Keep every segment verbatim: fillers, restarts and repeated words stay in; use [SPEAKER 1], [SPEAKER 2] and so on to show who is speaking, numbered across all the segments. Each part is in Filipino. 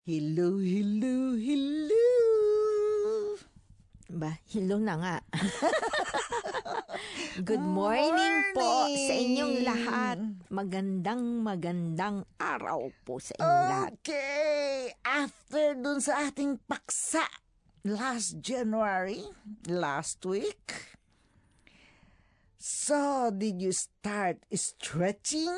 [SPEAKER 1] Hello, hello, hello.
[SPEAKER 2] Ba, hello na nga. Good morning, morning po sa inyong lahat. Magandang magandang araw po sa inyong
[SPEAKER 1] okay.
[SPEAKER 2] lahat.
[SPEAKER 1] Okay, after dun sa ating paksa last January, last week, so did you start stretching?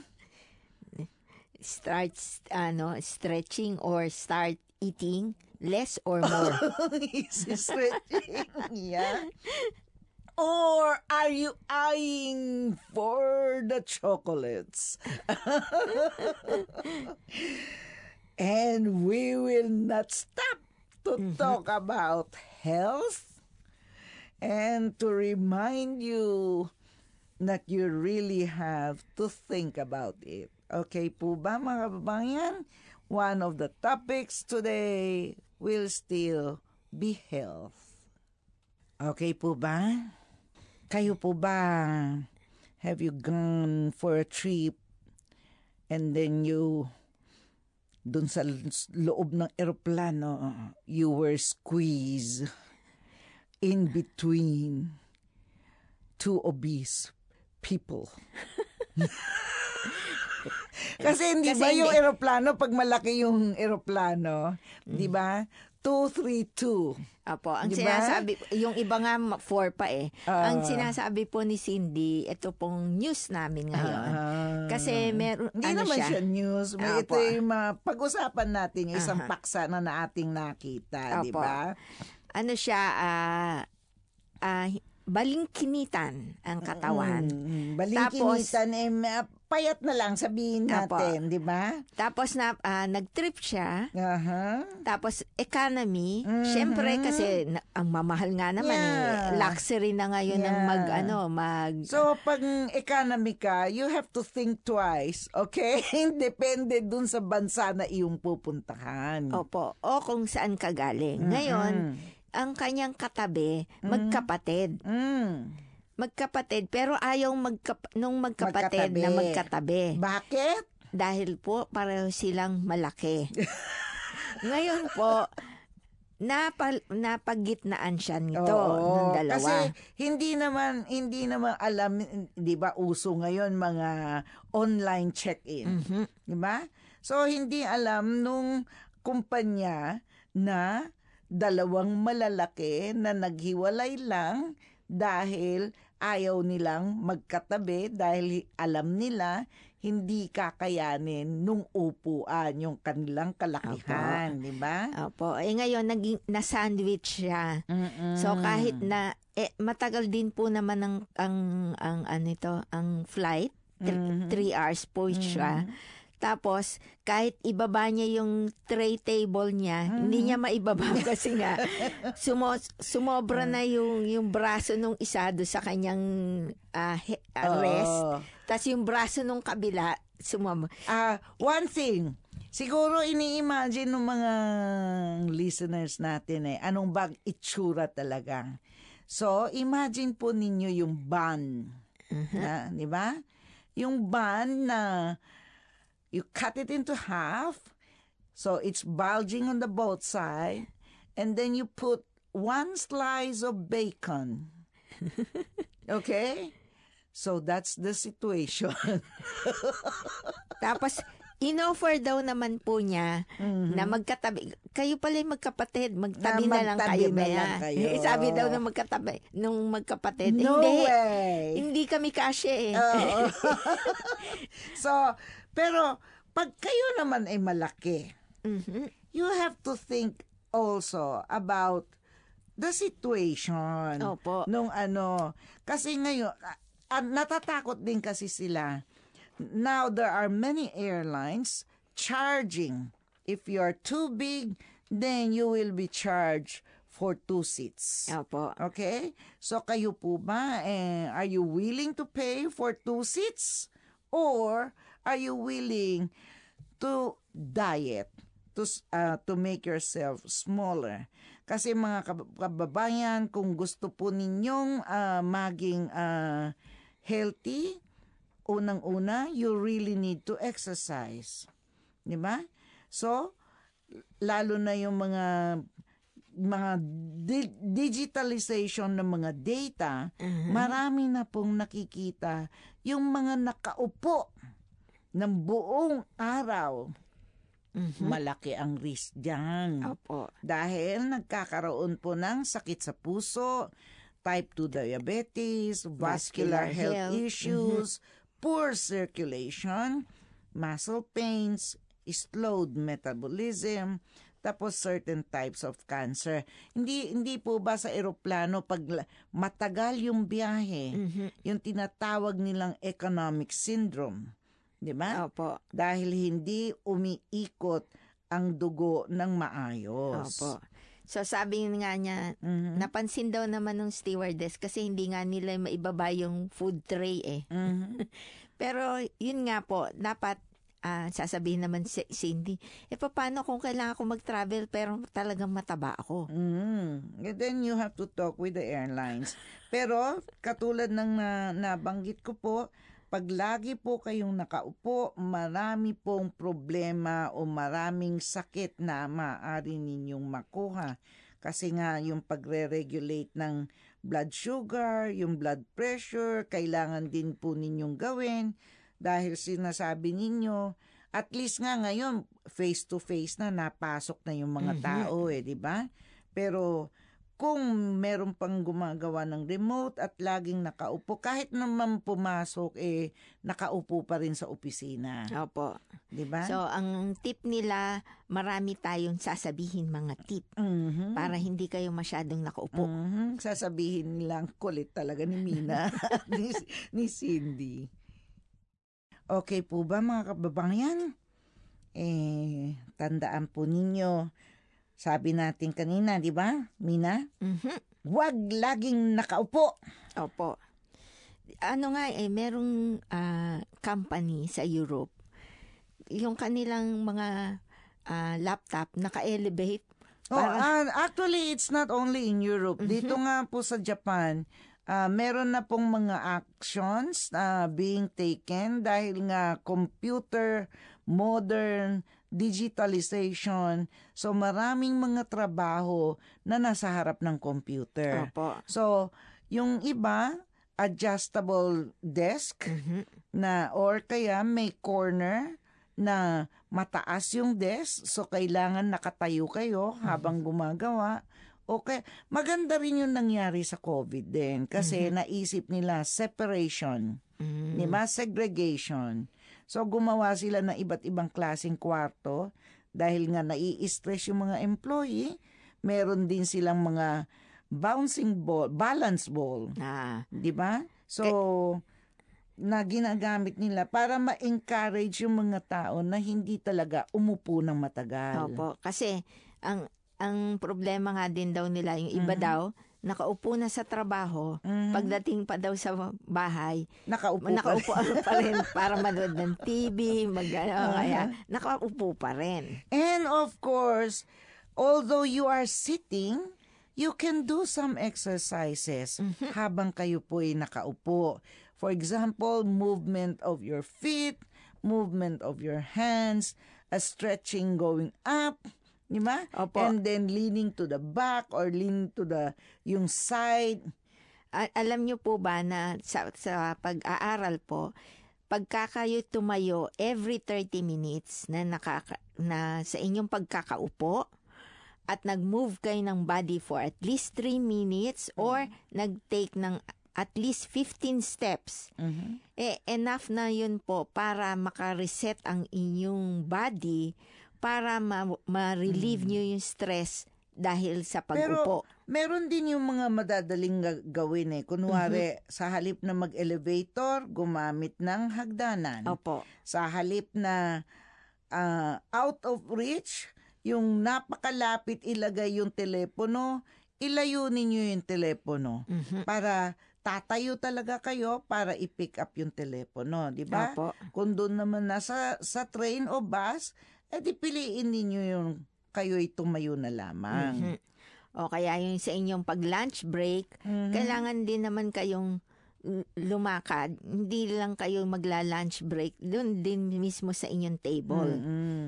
[SPEAKER 2] Start ano, stretching or start eating less or more?
[SPEAKER 1] Is stretching, yeah. Or are you eyeing for the chocolates? And we will not stop to mm-hmm. talk about health and to remind you that you really have to think about it. Okay po ba mga kababayan? One of the topics today will still be health. Okay po ba? Kayo po ba, have you gone for a trip and then you, dun sa loob ng eroplano, you were squeezed in between two obese people? Kasi hindi Kasi ba yung hindi. eroplano, pag malaki yung eroplano, mm. di ba? two three two.
[SPEAKER 2] Apo, ang
[SPEAKER 1] diba?
[SPEAKER 2] sinasabi, yung iba nga four pa eh. Uh, ang sinasabi po ni Cindy, ito pong news namin ngayon. Uh, Kasi meron,
[SPEAKER 1] hindi
[SPEAKER 2] ano
[SPEAKER 1] naman
[SPEAKER 2] siya?
[SPEAKER 1] siya news. May ito yung uh, pag-usapan natin yung isang uh-huh. paksa na na ating nakita, di ba?
[SPEAKER 2] Ano siya, ah, uh, uh, balingkinitan ang katawan.
[SPEAKER 1] Mm, balingkinitan, eh, payat na lang sabihin natin, di ba?
[SPEAKER 2] Tapos na uh, nag-trip siya.
[SPEAKER 1] Uh-huh.
[SPEAKER 2] Tapos economy, mm-hmm. syempre kasi na, ang mamahal nga naman yeah. eh. Luxury na ngayon yeah. ng mag ano, mag
[SPEAKER 1] So pag economy ka, you have to think twice, okay? Depende dun sa bansa na iyong pupuntahan.
[SPEAKER 2] Opo, o kung saan ka galing. Mm-hmm. Ngayon, ang kanyang katabi, mm. magkapatid.
[SPEAKER 1] Mm.
[SPEAKER 2] Magkapatid, pero ayaw magkap- nung magkapatid magkatabi. na magkatabi.
[SPEAKER 1] Bakit?
[SPEAKER 2] Dahil po, pareho silang malaki. Ngayon po, napal- napagitnaan siya nito, ng dalawa.
[SPEAKER 1] Kasi hindi naman, hindi naman alam, di ba, uso ngayon mga online check-in.
[SPEAKER 2] Mm-hmm.
[SPEAKER 1] Di ba? So, hindi alam nung kumpanya na dalawang malalaki na naghiwalay lang dahil ayaw nilang magkatabi dahil alam nila hindi kakayanin nung upuan yung kanilang kalakihan, di ba?
[SPEAKER 2] Opo. Eh ngayon naging na-sandwich siya.
[SPEAKER 1] Mm-mm.
[SPEAKER 2] So kahit na eh, matagal din po naman ang ang ang ano ito, ang flight, mm-hmm. three hours po siya. Mm-hmm. Tapos, kahit ibaba niya yung tray table niya, mm-hmm. hindi niya maibaba kasi nga, sumo, sumobra na yung, yung braso nung isa do sa kanyang uh, he, uh, rest. Oh. Tapos yung braso nung kabila, sumobra.
[SPEAKER 1] Uh, one thing, siguro ini-imagine ng mga listeners natin eh, anong bag itsura talaga. So, imagine po ninyo yung bun. Uh-huh. Na, di ba? Yung bun na you cut it into half, so it's bulging on the both side, and then you put one slice of bacon. Okay? So that's the situation.
[SPEAKER 2] Tapos, in-offer daw naman po niya mm-hmm. na magkatabi. Kayo pala yung magkapatid, magtabi na, na lang kayo.
[SPEAKER 1] Na lang kayo.
[SPEAKER 2] Sabi daw ng magkatabi, nung magkapatid.
[SPEAKER 1] No
[SPEAKER 2] hindi,
[SPEAKER 1] way!
[SPEAKER 2] Hindi kami kasya eh.
[SPEAKER 1] Oh. So, pero pag kayo naman ay malaki,
[SPEAKER 2] mm-hmm.
[SPEAKER 1] you have to think also about the situation.
[SPEAKER 2] Opo.
[SPEAKER 1] Nung ano, kasi ngayon, uh, natatakot din kasi sila. Now, there are many airlines charging. If you are too big, then you will be charged for two seats.
[SPEAKER 2] Opo.
[SPEAKER 1] Okay? So, kayo po ba, eh, are you willing to pay for two seats? Or are you willing to diet, to, uh, to make yourself smaller? Kasi mga kababayan, kung gusto po ninyong uh, maging uh, healthy, unang-una, you really need to exercise. Di ba? So, lalo na yung mga mga di- digitalization ng mga data,
[SPEAKER 2] Mhm.
[SPEAKER 1] marami na pong nakikita yung mga nakaupo ng buong araw.
[SPEAKER 2] Mhm.
[SPEAKER 1] Malaki ang risk dyan.
[SPEAKER 2] Opo.
[SPEAKER 1] Dahil nagkakaroon po ng sakit sa puso, type two diabetes, vascular,
[SPEAKER 2] Vascular
[SPEAKER 1] health,
[SPEAKER 2] health,
[SPEAKER 1] issues, poor circulation, muscle pains, slowed metabolism, tapos certain types of cancer. Hindi hindi po ba sa eroplano pag la- matagal yung biyahe,
[SPEAKER 2] Mhm.
[SPEAKER 1] yung tinatawag nilang economic syndrome, 'di ba?
[SPEAKER 2] Opo.
[SPEAKER 1] Dahil hindi umiikot ang dugo ng maayos.
[SPEAKER 2] Opo. So sabi nga niya,
[SPEAKER 1] Mhm.
[SPEAKER 2] napansin daw naman ng stewardess kasi hindi nga nila maibaba yung food tray eh.
[SPEAKER 1] Mhm.
[SPEAKER 2] Pero yun nga po, dapat ah, sasabihin naman si Cindy, eh paano kung kailangan ko mag-travel pero talagang mataba ako?
[SPEAKER 1] Mm. And then you have to talk with the airlines. Pero katulad ng na, nabanggit ko po, pag lagi po kayong nakaupo, marami pong problema o maraming sakit na maaari ninyong makuha. Kasi nga yung pagre-regulate ng blood sugar, yung blood pressure, kailangan din po ninyong gawin. Dahil sinasabi ninyo, at least nga ngayon, face-to-face na, napasok na yung mga
[SPEAKER 2] Mhm.
[SPEAKER 1] tao eh, di ba? Pero kung meron pang gumagawa ng remote at laging nakaupo, kahit naman pumasok, eh, nakaupo pa rin sa opisina.
[SPEAKER 2] Opo.
[SPEAKER 1] Di ba?
[SPEAKER 2] So ang tip nila, marami tayong sasabihin mga tip
[SPEAKER 1] Mhm.
[SPEAKER 2] para hindi kayo masyadong nakaupo.
[SPEAKER 1] Mhm. Sasabihin nilang kulit talaga ni Mina at ni, ni Cindy. Okay po ba mga kababayan? Eh, tandaan po ninyo, sabi natin kanina, di ba, Mina?
[SPEAKER 2] Mhm.
[SPEAKER 1] Huwag laging nakaupo.
[SPEAKER 2] Opo. Ano nga eh, merong ah, company sa Europe, yung kanilang mga ah, laptop naka-elevate.
[SPEAKER 1] Oh,
[SPEAKER 2] Para,
[SPEAKER 1] ah, actually, it's not only in Europe. Dito nga po sa Japan, ah, meron na pong mga actions na being taken dahil nga computer, modern, digitalization. So maraming mga trabaho na nasa harap ng computer.
[SPEAKER 2] opo.
[SPEAKER 1] So yung iba, adjustable desk
[SPEAKER 2] Mhm.
[SPEAKER 1] na or kaya may corner na mataas yung desk, so kailangan nakatayo kayo habang gumagawa. Okay, maganda rin yung nangyari sa COVID din kasi naisip nila separation,
[SPEAKER 2] Mm.
[SPEAKER 1] di ba? Segregation. So gumawa sila ng iba't ibang klaseng kwarto dahil nga nai-stress yung mga employee. Meron din silang mga bouncing ball, balance ball,
[SPEAKER 2] Ah,
[SPEAKER 1] di ba? So na ginagamit nila para ma-encourage yung mga tao na hindi talaga umupo ng matagal.
[SPEAKER 2] opo. Kasi ang ang problema nga din daw nila, yung iba daw, nakaupo na sa trabaho,
[SPEAKER 1] Mhm.
[SPEAKER 2] pagdating pa daw sa bahay,
[SPEAKER 1] Nakaupo pa
[SPEAKER 2] nakaupo pa rin para manood ng T V, mag, ano, kaya nakaupo pa rin.
[SPEAKER 1] And of course, although you are sitting, you can do some exercises habang kayo po ay nakaupo. For example, movement of your feet, movement of your hands, a stretching going up, di ba?
[SPEAKER 2] Opo.
[SPEAKER 1] And then leaning to the back or leaning to the yung side.
[SPEAKER 2] A- alam niyo po ba na sa, sa pag-aaral po, pagka kayo tumayo every thirty minutes na, nakaka, na sa inyong pagkakaupo at nag-move kayo ng body for at least three minutes or nag-take ng at least fifteen steps,
[SPEAKER 1] Mhm.
[SPEAKER 2] eh enough na yun po para maka-reset ang inyong body para ma- ma-relieve nyo yung stress dahil sa pag-upo.
[SPEAKER 1] Meron din yung mga madadaling ga- gawin eh. Kunwari, sa halip na mag-elevator, gumamit ng hagdanan.
[SPEAKER 2] Opo.
[SPEAKER 1] Sa halip na ah, out of reach, yung napakalapit ilagay yung telepono, ilayo ninyo yung telepono
[SPEAKER 2] Mhm.
[SPEAKER 1] para tatayo talaga kayo para i-pick up yung telepono, di ba?
[SPEAKER 2] Opo.
[SPEAKER 1] Kung doon naman nasa sa train o bus, edi piliin ninyo yung kayo'y tumayo na lamang.
[SPEAKER 2] Mhm. O kaya yung sa inyong pag-lunch break,
[SPEAKER 1] Mhm.
[SPEAKER 2] kailangan din naman kayong l- lumakad. Hindi lang kayo magla-lunch break, doon din mismo sa inyong table.
[SPEAKER 1] Mm-mm.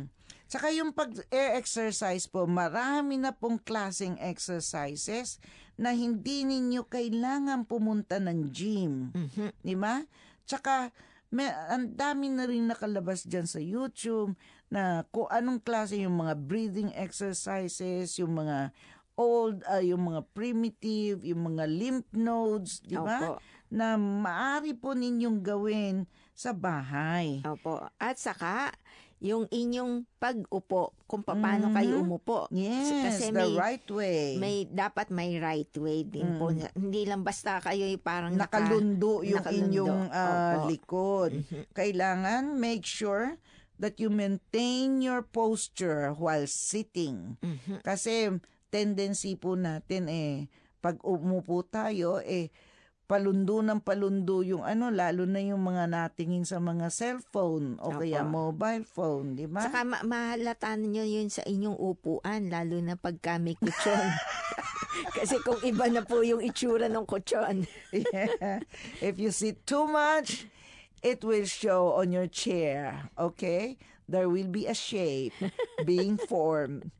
[SPEAKER 1] Tsaka yung pag-exercise po, marami na pong klaseng exercises na hindi ninyo kailangan pumunta ng gym.
[SPEAKER 2] Mhm.
[SPEAKER 1] Di ba? Tsaka, may, ang dami na rin nakalabas dyan sa YouTube na kung anong klase yung mga breathing exercises, yung mga old, uh, yung mga primitive, yung mga lymph nodes, di ba?
[SPEAKER 2] Opo.
[SPEAKER 1] Na maaari po ninyong gawin sa bahay.
[SPEAKER 2] Opo. At saka, yung inyong pag-upo, kung paano
[SPEAKER 1] Mhm.
[SPEAKER 2] kayo umupo.
[SPEAKER 1] Yes,
[SPEAKER 2] Kasi
[SPEAKER 1] the
[SPEAKER 2] may,
[SPEAKER 1] right way.
[SPEAKER 2] may dapat may right way din po. Hindi lang basta kayo yung parang naka-
[SPEAKER 1] Nakalundo yung
[SPEAKER 2] nakalundo.
[SPEAKER 1] inyong ah,
[SPEAKER 2] Opo.
[SPEAKER 1] likod. Kailangan make sure that you maintain your posture while sitting.
[SPEAKER 2] Mhm.
[SPEAKER 1] Kasi tendency po natin eh, pag umupo tayo eh, palundo ng palundo yung ano, lalo na yung mga natingin sa mga cellphone o
[SPEAKER 2] Opo.
[SPEAKER 1] kaya mobile phone, di ba?
[SPEAKER 2] Saka ma- mahalata nyo yun sa inyong upuan, lalo na pagka may kutsyon. Kasi kung iba na po yung itsura ng kutsyon.
[SPEAKER 1] Yeah. If you sit too much, it will show on your chair, okay? There will be a shape being formed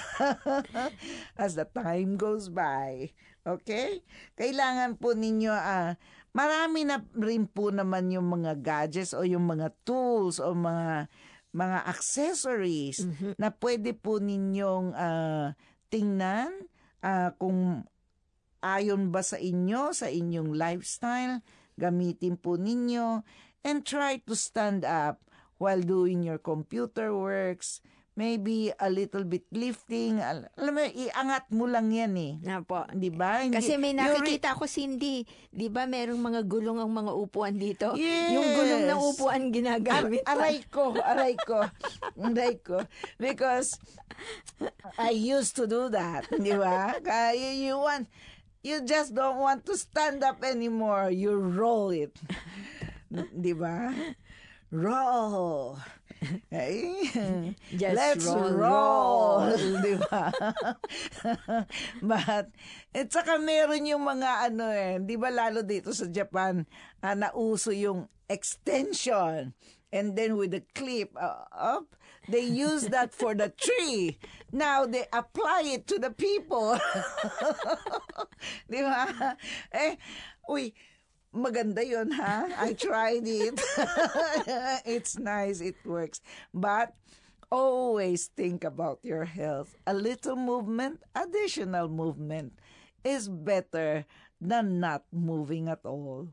[SPEAKER 1] as the time goes by. Okay? Kailangan po ninyo, ah, marami na rin po naman yung mga gadgets o yung mga tools o mga mga accessories na pwede po ninyong ah, tingnan ah, kung ayon ba sa inyo, sa inyong lifestyle, gamitin po ninyo, and try to stand up while doing your computer works, maybe a little bit lifting. Al- alam mo, iangat mo lang yan eh.
[SPEAKER 2] Na po.
[SPEAKER 1] Di ba? Hindi-
[SPEAKER 2] Kasi may
[SPEAKER 1] yung re-
[SPEAKER 2] nakikita ko, Cindy, di ba merong mga gulong ang mga upuan dito?
[SPEAKER 1] Yes.
[SPEAKER 2] Yung gulong ng upuan ginagamit.
[SPEAKER 1] Ar- aray ko, aray ko, aray ko. Because I used to do that, di ba? Kaya you want, you just don't want to stand up anymore. You roll it. Di ba? Roll. Ay,
[SPEAKER 2] Just
[SPEAKER 1] let's
[SPEAKER 2] roll,
[SPEAKER 1] roll. Di ba? But, at saka meron yung mga ano eh, di ba lalo dito sa Japan, ah, nauso yung extension. And then with the clip uh, up, they use that for the tree. Now they apply it to the people. Di ba? Eh, uy, maganda yun, ha? I tried it. It's nice. It works. But always think about your health. A little movement, additional movement is better than not moving at all.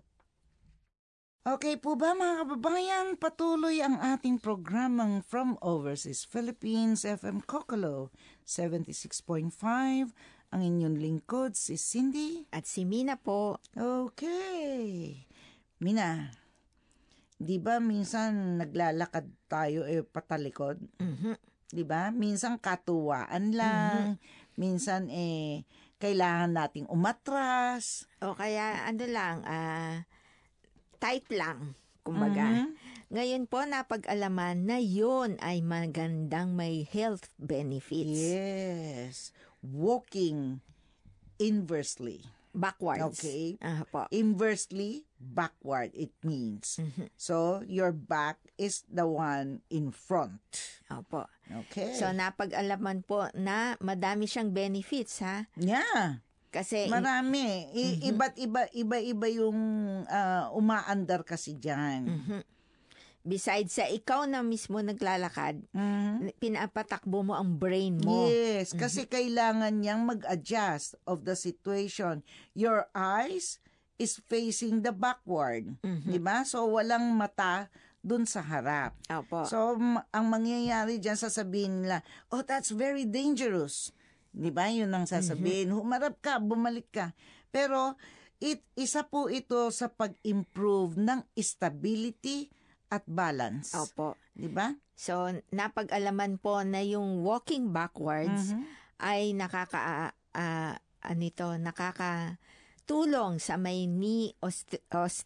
[SPEAKER 1] Okay po ba mga kababayan? Patuloy ang ating programang From Overseas Philippines, F M Kokolo, seventy-six point five. Ang inyong lingkod, si Cindy.
[SPEAKER 2] At si Mina po.
[SPEAKER 1] Okay. Mina, di ba minsan naglalakad tayo eh patalikod?
[SPEAKER 2] Mhm.
[SPEAKER 1] Di ba? Minsan katuwaan lang. Minsan eh kailangan nating umatras.
[SPEAKER 2] O kaya ano lang, ah, tight lang, kumbaga.
[SPEAKER 1] Mhm.
[SPEAKER 2] Ngayon po, napag-alaman na yun ay magandang may health benefits.
[SPEAKER 1] Yes. Walking inversely.
[SPEAKER 2] Backwards.
[SPEAKER 1] Okay.
[SPEAKER 2] Ah, po.
[SPEAKER 1] Inversely, backward it means. So, your back is the one in front.
[SPEAKER 2] Opo.
[SPEAKER 1] Okay.
[SPEAKER 2] So, napag-alaman po na madami siyang benefits, ha?
[SPEAKER 1] yeah.
[SPEAKER 2] Kasi,
[SPEAKER 1] Marami. I- Iba't iba, iba-iba yung ah, umaandar kasi dyan.
[SPEAKER 2] besides sa ikaw na mismo naglalakad,
[SPEAKER 1] Mhm.
[SPEAKER 2] pinapatakbo mo ang brain mo.
[SPEAKER 1] Yes, kasi kailangan niyang mag-adjust of the situation. Your eyes is facing the backward. Di ba? So, walang mata dun sa harap.
[SPEAKER 2] Opo.
[SPEAKER 1] So, m- ang mangyayari dyan, sasabihin nila, oh, that's very dangerous. Di ba? Yun ang sasabihin. Humarap ka, bumalik ka. Pero, it, isa po ito sa pag-improve ng stability at balance.
[SPEAKER 2] Opo.
[SPEAKER 1] Di ba?
[SPEAKER 2] So, napag-alaman po na yung walking backwards ay nakaka, ah, ano ito, nakakatulong sa may knee oste-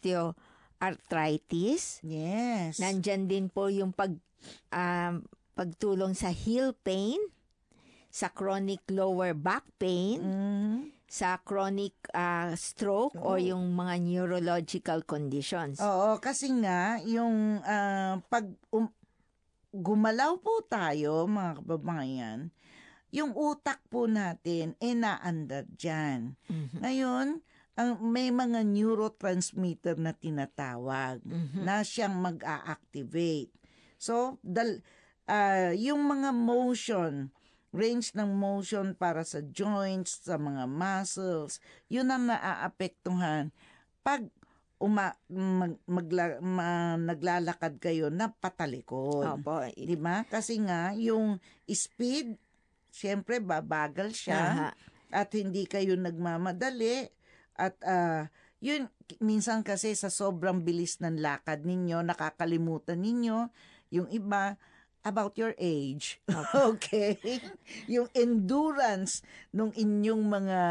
[SPEAKER 2] osteoarthritis.
[SPEAKER 1] Yes.
[SPEAKER 2] Nandyan din po yung pag, ah, pagtulong sa heel pain, sa chronic lower back pain,
[SPEAKER 1] Mhm.
[SPEAKER 2] sa chronic ah, stroke o yung mga neurological conditions.
[SPEAKER 1] Oo, kasi nga, yung ah, pag, um, gumalaw po tayo, mga kababayan, yung utak po natin, eh naandar dyan.
[SPEAKER 2] Mhm.
[SPEAKER 1] Ngayon, ang, may mga neurotransmitter na tinatawag
[SPEAKER 2] Mhm.
[SPEAKER 1] na siyang mag-a-activate. So, dal, ah, yung mga motion, range ng motion para sa joints, sa mga muscles, yun ang naaapektuhan pag uma, mag, magla, ma, naglalakad kayo na patalikod.
[SPEAKER 2] Opo.
[SPEAKER 1] Di ba? Kasi nga, yung speed, siyempre babagal siya
[SPEAKER 2] Aha.
[SPEAKER 1] at hindi kayo nagmamadali at ah, yun, minsan kasi sa sobrang bilis ng lakad ninyo, nakakalimutan ninyo yung iba about your age. Okay? Yung endurance nung inyong mga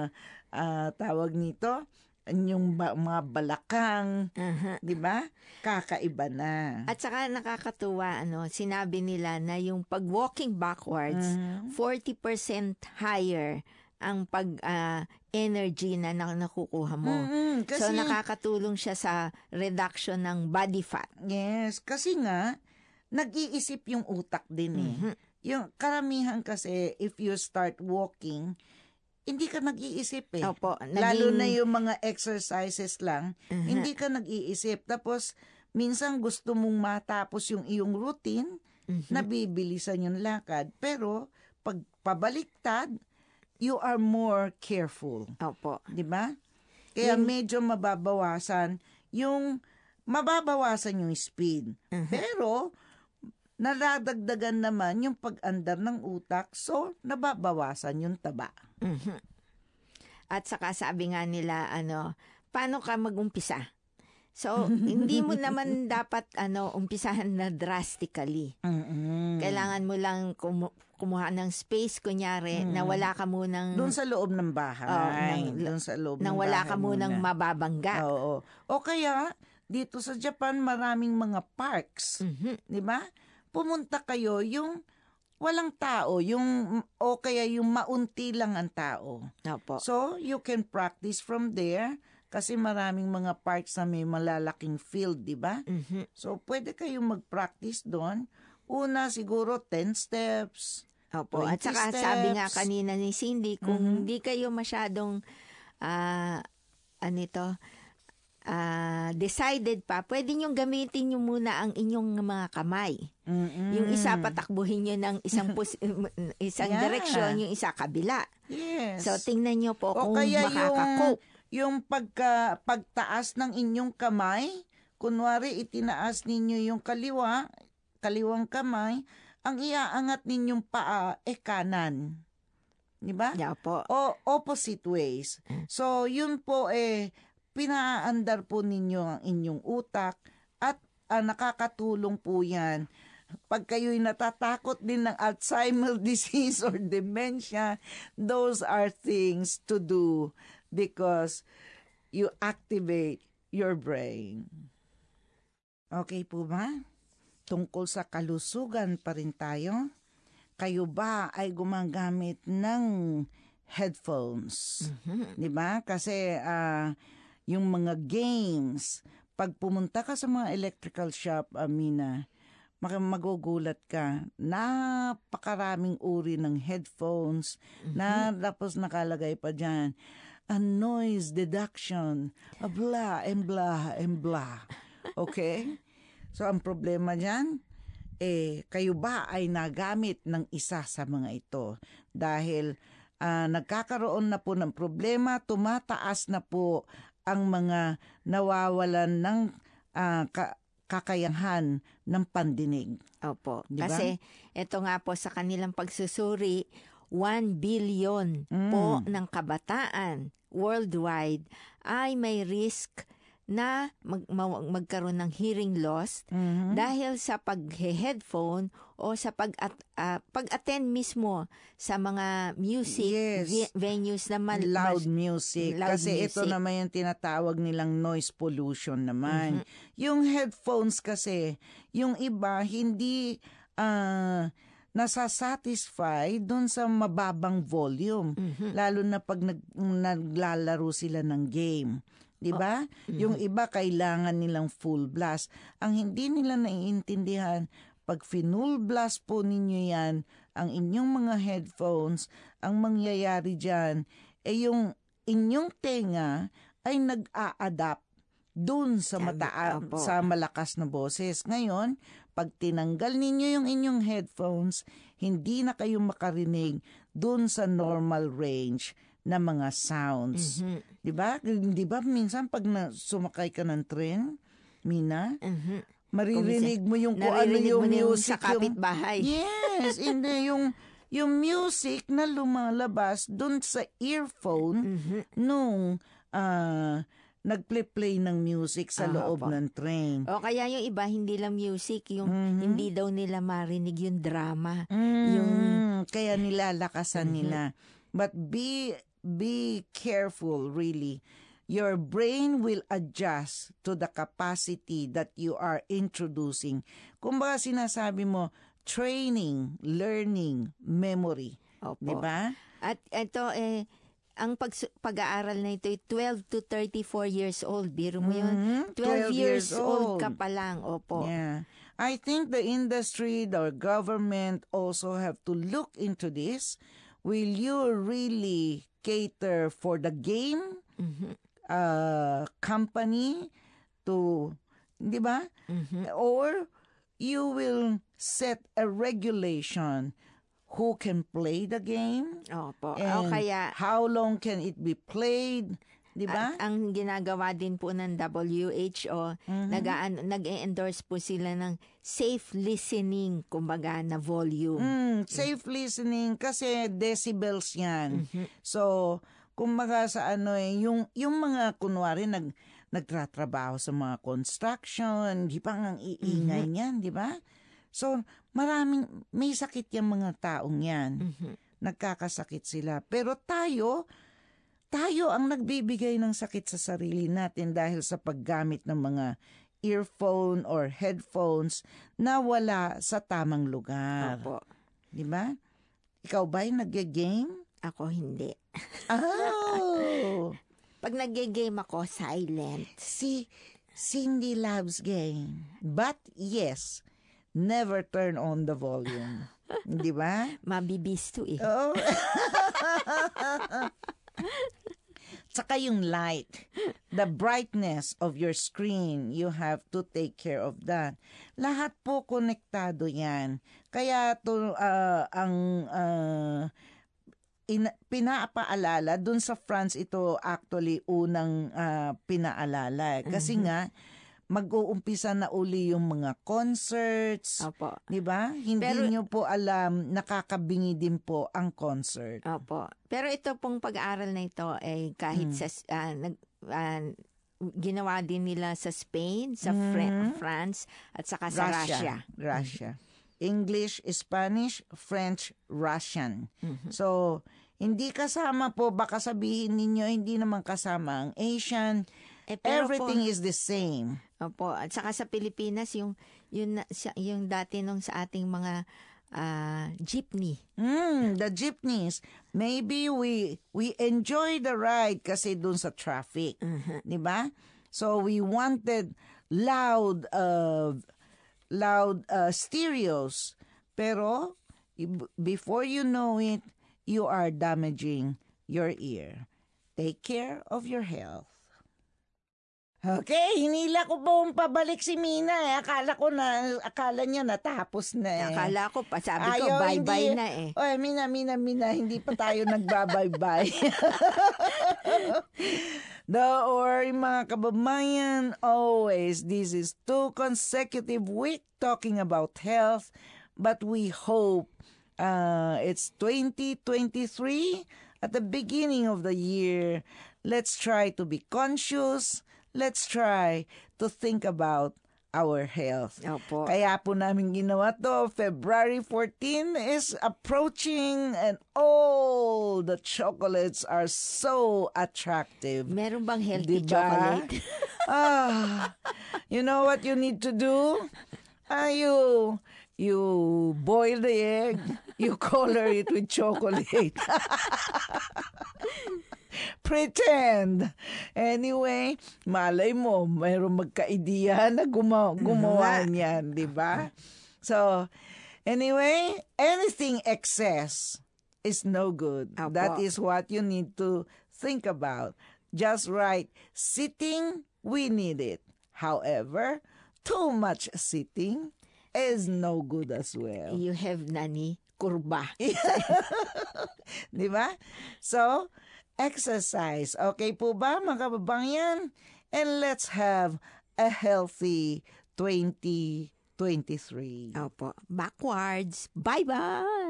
[SPEAKER 1] ah, tawag nito, inyong ba, mga balakang,
[SPEAKER 2] Aha.
[SPEAKER 1] 'di ba? Kakaiba na.
[SPEAKER 2] At saka nakakatuwa, ano, sinabi nila na yung pag walking backwards,
[SPEAKER 1] Mhm.
[SPEAKER 2] forty percent higher ang pag ah, energy na, na nakukuha mo.
[SPEAKER 1] Mm, kasi,
[SPEAKER 2] So nakakatulong siya sa reduction ng body fat.
[SPEAKER 1] yes, kasi nga, nag-iisip yung utak din eh.
[SPEAKER 2] Mhm.
[SPEAKER 1] Yung karamihan kasi, if you start walking, hindi ka nag-iisip eh.
[SPEAKER 2] Opo,
[SPEAKER 1] Lalo
[SPEAKER 2] naging-
[SPEAKER 1] na yung mga exercises lang,
[SPEAKER 2] Mhm.
[SPEAKER 1] hindi ka nag-iisip. Tapos, minsan gusto mong matapos yung iyong routine,
[SPEAKER 2] Mhm.
[SPEAKER 1] nabibilisan yung lakad. Pero, pag pabaliktad, you are more careful.
[SPEAKER 2] Opo.
[SPEAKER 1] Di ba? Kaya
[SPEAKER 2] Yun-
[SPEAKER 1] medyo mababawasan yung, mababawasan yung speed.
[SPEAKER 2] Mhm.
[SPEAKER 1] Pero, naladagdagan naman yung pag-andar ng utak, so nababawasan yung taba.
[SPEAKER 2] Mhm. At saka sabi nga nila, ano, paano ka mag-umpisa? So, hindi mo naman dapat ano umpisahan na drastically.
[SPEAKER 1] Mm-mm.
[SPEAKER 2] Kailangan mo lang kumu- kumuha ng space, kunyari, na wala ka munang,
[SPEAKER 1] Doon sa loob ng bahay.
[SPEAKER 2] Oo, nang-
[SPEAKER 1] Doon sa loob
[SPEAKER 2] nang
[SPEAKER 1] ng
[SPEAKER 2] wala
[SPEAKER 1] bahay
[SPEAKER 2] ka munang
[SPEAKER 1] muna.
[SPEAKER 2] mababangga.
[SPEAKER 1] Oo. O kaya, dito sa Japan, maraming mga parks.
[SPEAKER 2] Mhm.
[SPEAKER 1] Di ba? Pumunta kayo yung walang tao, yung o kaya yung maunti lang ang tao.
[SPEAKER 2] Opo.
[SPEAKER 1] So, you can practice from there kasi maraming mga parks na may malalaking field, di ba?
[SPEAKER 2] Mhm.
[SPEAKER 1] So, pwede kayong mag-practice doon. Una, siguro ten steps.
[SPEAKER 2] Opo. At
[SPEAKER 1] twenty
[SPEAKER 2] saka sabi nga
[SPEAKER 1] steps.
[SPEAKER 2] kanina ni Cindy, kung
[SPEAKER 1] Mhm.
[SPEAKER 2] hindi kayo masyadong ah ano ito, ah, decided pa, pwede nyo gamitin nyo muna ang inyong mga kamay.
[SPEAKER 1] Mm-mm.
[SPEAKER 2] Yung isa patakbuhin nyo ng isang pos- isang
[SPEAKER 1] Yeah.
[SPEAKER 2] direksyon, yung isa kabila.
[SPEAKER 1] Yes.
[SPEAKER 2] So tingnan nyo po
[SPEAKER 1] o
[SPEAKER 2] kung
[SPEAKER 1] kaya yung,
[SPEAKER 2] makaka-cope.
[SPEAKER 1] yung pagka, pagtaas ng inyong kamay, kunwari itinaas ninyo yung kaliwa, kaliwang kamay, ang iaangat ninyong paa e kanan. Di ba?
[SPEAKER 2] Yeah po.
[SPEAKER 1] O opposite ways. So, yun po eh, pinaandar po ninyo ang inyong utak at ah, nakakatulong po yan. Pag kayo'y natatakot din ng Alzheimer disease or dementia, those are things to do because you activate your brain. Okay po ba? Tungkol sa kalusugan pa rin tayo. Kayo ba ay gumagamit ng headphones?
[SPEAKER 2] Mhm.
[SPEAKER 1] Di ba? Kasi ah, yung mga games, pag pumunta ka sa mga electrical shop, Amina, mak- magugulat ka. Napakaraming uri ng headphones na tapos nakalagay pa dyan, a noise deduction, a blah and blah and blah. Okay? So, ang problema dyan, eh, kayo ba ay nagamit ng isa sa mga ito? Dahil ah, nagkakaroon na po ng problema, tumataas na po ang mga nawawalan ng ah, ka- kakayahan ng pandinig.
[SPEAKER 2] Opo.
[SPEAKER 1] Di ba?
[SPEAKER 2] Kasi ito nga po sa kanilang pagsusuri, one billion po
[SPEAKER 1] Mm.
[SPEAKER 2] ng kabataan worldwide ay may risk na mag, ma- magkaroon ng hearing loss
[SPEAKER 1] Mhm.
[SPEAKER 2] dahil sa pag-headphone o sa pag at, pag-attend mismo sa mga music
[SPEAKER 1] Yes.
[SPEAKER 2] ve- venues na man,
[SPEAKER 1] Loud
[SPEAKER 2] mas-
[SPEAKER 1] music.
[SPEAKER 2] loud
[SPEAKER 1] Kasi ito
[SPEAKER 2] music.
[SPEAKER 1] naman yung tinatawag nilang noise pollution naman.
[SPEAKER 2] Mhm.
[SPEAKER 1] Yung headphones kasi, yung iba hindi ah, nasasatisfy dun sa mababang volume.
[SPEAKER 2] Mhm.
[SPEAKER 1] Lalo na pag nag, naglalaro sila ng game. Di ba?
[SPEAKER 2] Mhm.
[SPEAKER 1] Yung iba kailangan nilang full blast. Ang hindi nila naiintindihan, Pag finull blast po ninyo yan, ang inyong mga headphones, ang mangyayari dyan, eh yung inyong tenga ay nag-a-adapt dun sa, mata- sa malakas na boses. Ngayon, pag tinanggal ninyo yung inyong headphones, hindi na kayo makarinig dun sa normal range na mga sounds. Mm-hmm. Di ba? Di ba minsan pag na, sumakay ka ng tren, Mina, mm-hmm. maririnig mo yung kung ano yung music.
[SPEAKER 2] Sa kapitbahay.
[SPEAKER 1] Yes, hindi yung yung music na lumalabas dun sa earphone mm-hmm. nung uh, nagplay-play ng music sa uh, loob po. ng train.
[SPEAKER 2] O kaya yung iba, hindi lang music, yung mm-hmm. hindi daw nila marinig yung drama.
[SPEAKER 1] Mm,
[SPEAKER 2] yung
[SPEAKER 1] kaya nilalakasan mm-hmm. nila. But be be careful, really. Your brain will adjust to the capacity that you are introducing. Kumbaga sinasabi mo, training, learning, memory.
[SPEAKER 2] Opo.
[SPEAKER 1] Diba?
[SPEAKER 2] At ito eh, ang pag, pag-aaral na ito ay twelve to thirty-four years old. Biro mo yun? Mm-hmm. twelve, twelve years, years old. old ka pa lang. Opo.
[SPEAKER 1] Yeah. I think the industry, the government also have to look into this. Will you really cater for the game mm-hmm. uh, company to, di ba? Mm-hmm. Or you will set a regulation who can play the game.
[SPEAKER 2] Opo.
[SPEAKER 1] And
[SPEAKER 2] o kaya,
[SPEAKER 1] how long can it be played? Di ba?
[SPEAKER 2] Ang ginagawa din po ng W H O, mm-hmm. nag- nag-endorse po sila ng safe listening, kumbaga, na volume.
[SPEAKER 1] Mm, safe mm. listening kasi decibels yan. Mm-hmm. So, kumbaga sa ano eh, yung, yung mga kunwari nag, nagtratrabaho sa mga construction, di pa ang iingay mm-hmm. niyan, di ba? So, maraming, may sakit yung mga taong yan. Mm-hmm. Nagkakasakit sila. Pero tayo, tayo ang nagbibigay ng sakit sa sarili natin dahil sa paggamit ng mga earphone or headphones na wala sa tamang lugar.
[SPEAKER 2] Opo.
[SPEAKER 1] Di ba? Ikaw ba'y nag-game?
[SPEAKER 2] Ako hindi.
[SPEAKER 1] Oh!
[SPEAKER 2] Pag nag-game ako, silent.
[SPEAKER 1] Si Cindy loves game. But yes, never turn on the volume. Di ba?
[SPEAKER 2] Mabibisto eh.
[SPEAKER 1] Oo. Oh. Tsaka yung light, the brightness of your screen, you have to take care of that. Lahat po konektado yan. Kaya to uh, ang uh, in, pinapaalala, dun sa France ito actually unang uh, pinaalala. Kasi mm-hmm. nga, mag-uumpisa na uli yung mga concerts.
[SPEAKER 2] Opo.
[SPEAKER 1] Di ba? Hindi Pero, nyo po alam, nakakabingi din po ang concert.
[SPEAKER 2] Opo. Pero ito pong pag-aaral na ito ay eh, kahit mm. sa uh, nag uh, ginawa din nila sa Spain, sa mm. Fr- France at saka sa Russia.
[SPEAKER 1] Russia. Russia. Mm-hmm. English, Spanish, French, Russian. Mm-hmm. So, hindi kasama po, baka sabihin ninyo, hindi naman kasama ang Asian. Eh, everything po, is the same.
[SPEAKER 2] Opo. At saka sa Pilipinas, yung, yung, yung dati nung sa ating mga uh, jeepney.
[SPEAKER 1] Mm, the jeepneys. Maybe we we enjoy the ride kasi dun sa traffic. Uh-huh. Di ba? So we wanted loud, uh, loud uh, stereos. Pero before you know it, you are damaging your ear. Take care of your health. Okay, hinila ko pong pabalik si Mina eh. Akala ko na, akala niya natapos na eh.
[SPEAKER 2] Akala ko pa, sabi ko, Ayaw, bye-bye hindi, na eh.
[SPEAKER 1] Oy, Mina, Mina, Mina, hindi pa tayo nagbabay-bye. Don't worry mga kababayan, always, this is two consecutive weeks talking about health, but we hope uh, it's twenty twenty-three, at the beginning of the year, let's try to be conscious. Let's try to think about our health.
[SPEAKER 2] Opo.
[SPEAKER 1] Kaya po namin ginawa to. February fourteenth is approaching and all the chocolates are so attractive.
[SPEAKER 2] Meron bang healthy
[SPEAKER 1] diba?
[SPEAKER 2] chocolate?
[SPEAKER 1] ah, you know what you need to do? Ah, you, you boil the egg, you color it with chocolate. Pretend. Anyway, malay mo, mayroong magka-ideya na gumawa, gumawa niyan, di ba? So, anyway, anything excess is no good.
[SPEAKER 2] Apo.
[SPEAKER 1] That is what you need to think about. Just right. Sitting, we need it. However, too much sitting is no good as well.
[SPEAKER 2] You have nani kurba.
[SPEAKER 1] Di ba? So, exercise. Okay po ba, mga kababayan? And let's have a healthy twenty twenty-three.
[SPEAKER 2] Opo. Backwards. Bye-bye!